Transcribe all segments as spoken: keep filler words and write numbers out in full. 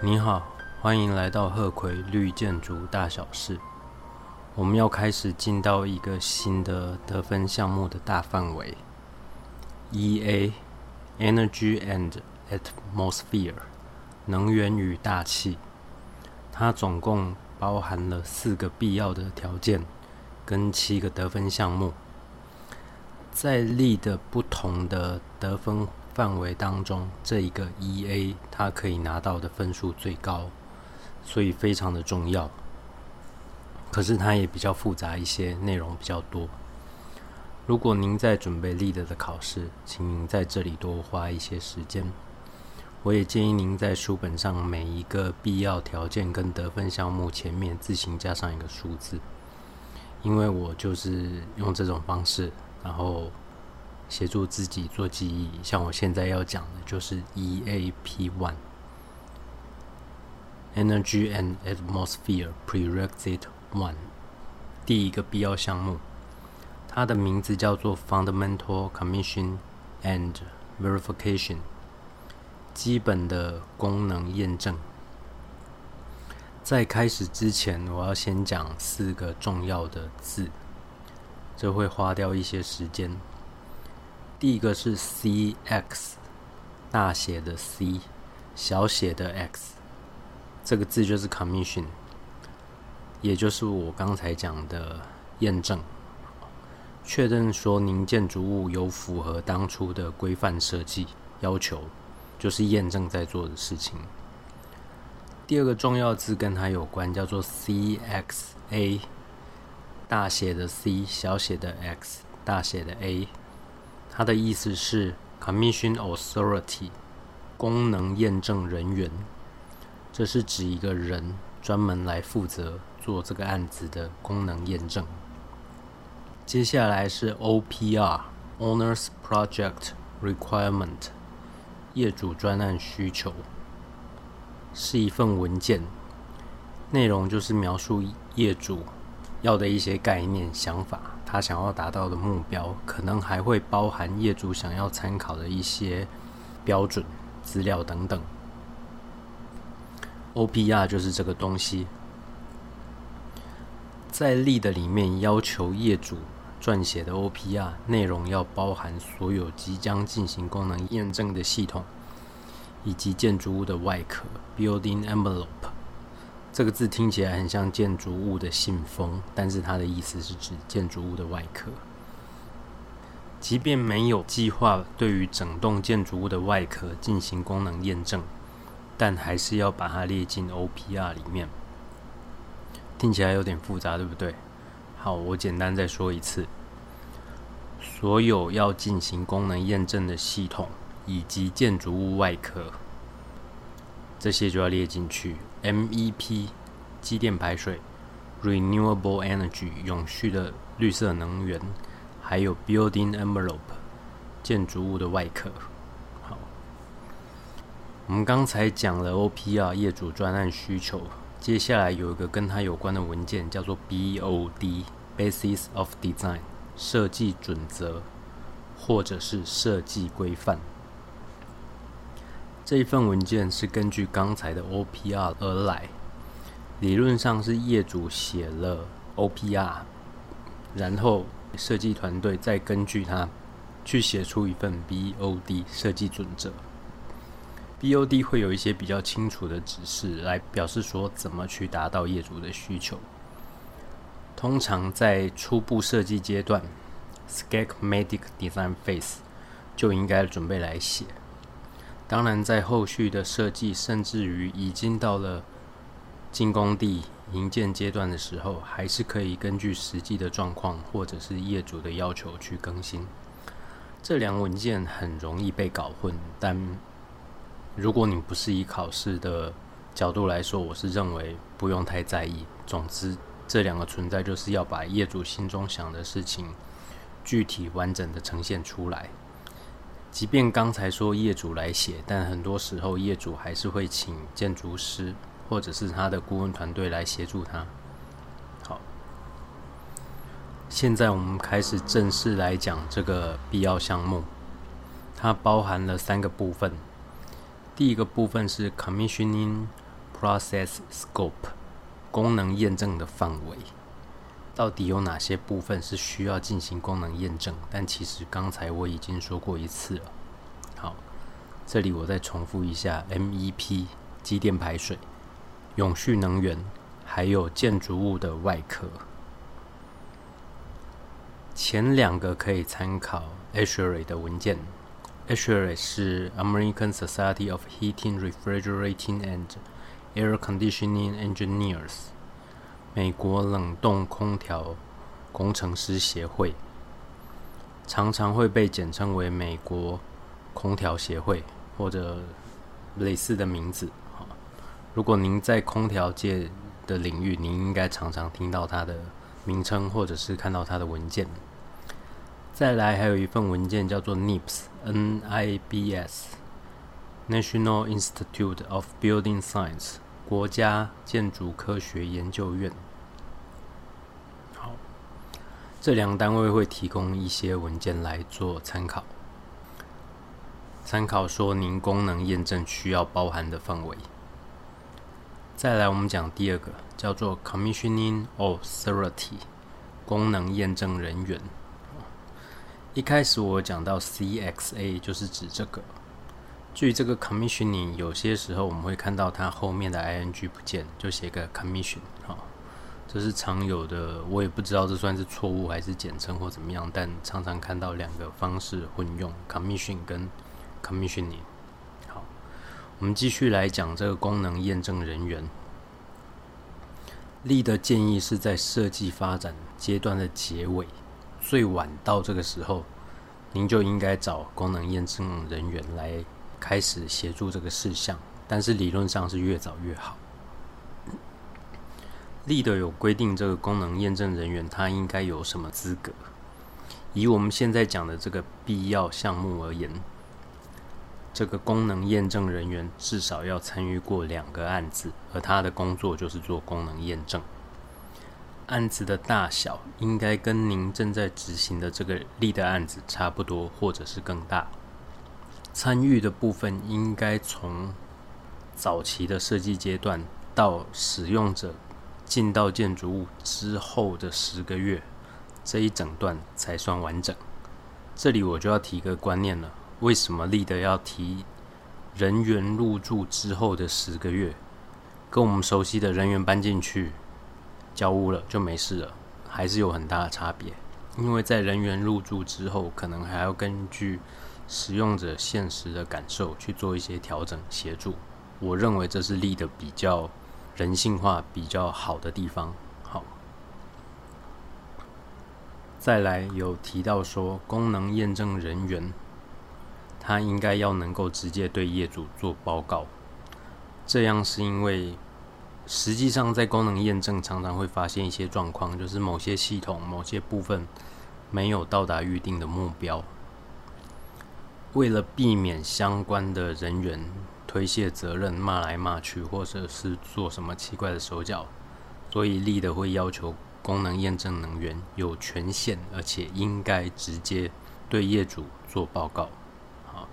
你好，欢迎来到鹤葵绿建筑大小事。我们要开始进到一个新的得分项目的大范围 E A Energy and Atmosphere 能源与大气。它总共包含了四个必要的条件跟七个得分项目。在力的不同的得分范围当中，这一个 E A 它可以拿到的分数最高，所以非常的重要。可是它也比较复杂一些，内容比较多。如果您在准备 leader 的考试，请您在这里多花一些时间。我也建议您在书本上每一个必要条件跟得分项目前面自行加上一个数字，因为我就是用这种方式，然后协助自己做记忆。像我现在要讲的就是 E A P 一 Energy and Atmosphere Prerequisite 一 第一个必要项目，它的名字叫做 Fundamental Commission and Verification 基本的功能验证。在开始之前，我要先讲四个重要的字，这会花掉一些时间。第一个是 C X， 大写的 C， 小写的 X， 这个字就是 Commission， 也就是我刚才讲的验证，确认说您建筑物有符合当初的规范设计要求，就是验证在做的事情。第二个重要字跟它有关，叫做 C X A， 大写的 C， 小写的 X， 大写的 A， 它的意思是 Commission Authority， 功能验证人员。这是指一个人专门来负责做这个案子的功能验证。接下来是 O P R Owner's Project Requirement， 业主专案需求，是一份文件，内容就是描述业主要的一些概念想法，他想要达到的目标，可能还会包含业主想要参考的一些标准资料等等。O P R 就是这个东西。在力的里面要求业主撰写的 O P R 内容要包含所有即将进行功能验证的系统，以及建筑物的外壳 Building Envelope。 这个字听起来很像建筑物的信封，但是它的意思是指建筑物的外壳。即便没有计划对于整栋建筑物的外壳进行功能验证，但还是要把它列进 O P R 里面。听起来有点复杂，对不对？好，我简单再说一次。所有要进行功能验证的系统以及建筑物外壳，这些就要列进去。 M E P 机电排水， Renewable Energy 永续的绿色能源，还有 Building Envelope 建筑物的外壳。好，我们刚才讲了 O P R 业主专案需求，接下来有一个跟它有关的文件叫做 B O D Basis of Design 设计准则或者是设计规范。这一份文件是根据刚才的 O P R 而来，理论上是业主写了 O P R， 然后设计团队再根据它去写出一份 B O D 设计准则。B O D 会有一些比较清楚的指示来表示说怎么去达到业主的需求。通常在初步设计阶段 Schematic Design Phase 就应该准备来写。当然在后续的设计，甚至于已经到了进工地营建阶段的时候，还是可以根据实际的状况或者是业主的要求去更新。这两文件很容易被搞混，但如果你不是以考试的角度来说，我是认为不用太在意。总之这两个存在就是要把业主心中想的事情具体完整的呈现出来。即便刚才说业主来写，但很多时候业主还是会请建筑师或者是他的顾问团队来协助他。好，现在我们开始正式来讲这个必要项目。它包含了三个部分。第一个部分是 Commissioning process scope 功能验证的范围，到底有哪些部分是需要进行功能验证？但其实刚才我已经说过一次了。好，这里我再重复一下 ：M E P 机电排水、永续能源，还有建筑物的外壳。前两个可以参考 A S H R A E 的文件。A S H R A E 是 American Society of Heating, Refrigerating and Air Conditioning Engineers 美国冷冻空调工程师协会，常常会被简称为美国空调协会或者类似的名字。如果您在空调界的领域，您应该常常听到它的名称或者是看到它的文件。再来还有一份文件叫做 N I B S N I B S National Institute of Building Science 国家建筑科学研究院。好，这两个单位会提供一些文件来做参考，参考说您功能验证需要包含的范围。再来我们讲第二个，叫做 Commissioning Authority 功能验证人员。一开始我讲到 C X A 就是指这个。至于这个 commissioning， 有些时候我们会看到它后面的 ing 不见，就写个 commission， 这是常有的，我也不知道这算是错误还是简称或怎么样，但常常看到两个方式混用 commission 跟 commissioning。好，我们继续来讲这个功能验证人员。力的建议是在设计发展阶段的结尾，最晚到这个时候，您就应该找功能验证人员来开始协助这个事项，但是理论上是越早越好。Lead 有规定这个功能验证人员他应该有什么资格。以我们现在讲的这个必要项目而言，这个功能验证人员至少要参与过两个案子，而他的工作就是做功能验证。案子的大小应该跟您正在执行的这个Lead的案子差不多，或者是更大。参与的部分应该从早期的设计阶段到使用者进到建筑物之后的十个月，这一整段才算完整。这里我就要提个观念了，为什么Lead要提人员入住之后的十个月？跟我们熟悉的人员搬进去交屋了就没事了，还是有很大的差别。因为在人员入住之后，可能还要根据使用者现实的感受去做一些调整协助。我认为这是Lead比较人性化、比较好的地方。好，再来有提到说，功能验证人员他应该要能够直接对业主做报告。这样是因为实际上在功能验证常常会发现一些状况，就是某些系统某些部分没有到达预定的目标。为了避免相关的人员推卸责任、骂来骂去，或者是做什么奇怪的手脚，所以Lead会要求功能验证人员有权限，而且应该直接对业主做报告。好，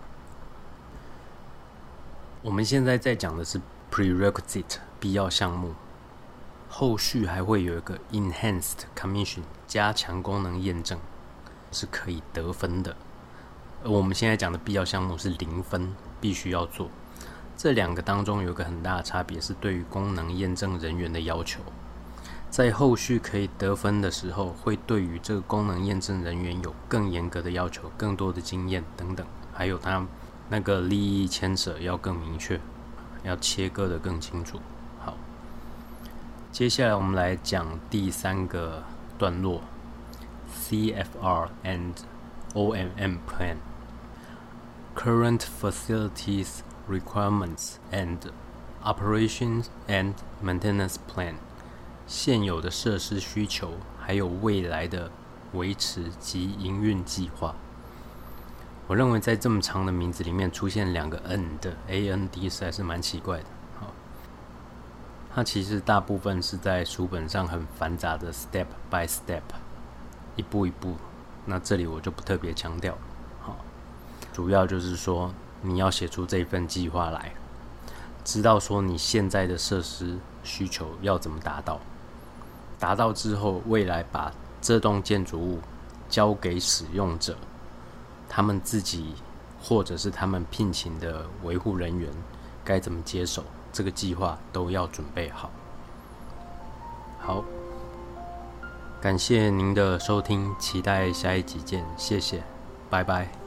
我们现在在讲的是 prerequisite 必要项目，后续还会有一个 enhanced commission 加强功能验证，是可以得分的。而我们现在讲的必要项目是零分，必须要做。这两个当中有一个很大的差别，是对于功能验证人员的要求。在后续可以得分的时候，会对于这个功能验证人员有更严格的要求，更多的经验等等，还有他那个利益牵扯要更明确，要切割的更清楚。好，接下来我们来讲第三个段落 C F R and O M M Plan。Current Facilities Requirements and Operations and Maintenance Plan 现有的设施需求，还有未来的维持及营运计划。我认为在这么长的名字里面出现两个 N 的 A N D 实在是蛮奇怪的。好，它其实大部分是在书本上很繁杂的 Step by Step 一步一步，那这里我就不特别强调。主要就是说你要写出这份计划来， 知道说你现在的设施需求要怎么达到，达到之后，未来把这栋建筑物交给使用者，他们自己或者是他们聘请的维护人员该怎么接手，这个计划都要准备好。好，感谢您的收听，期待下一集见，谢谢，拜拜。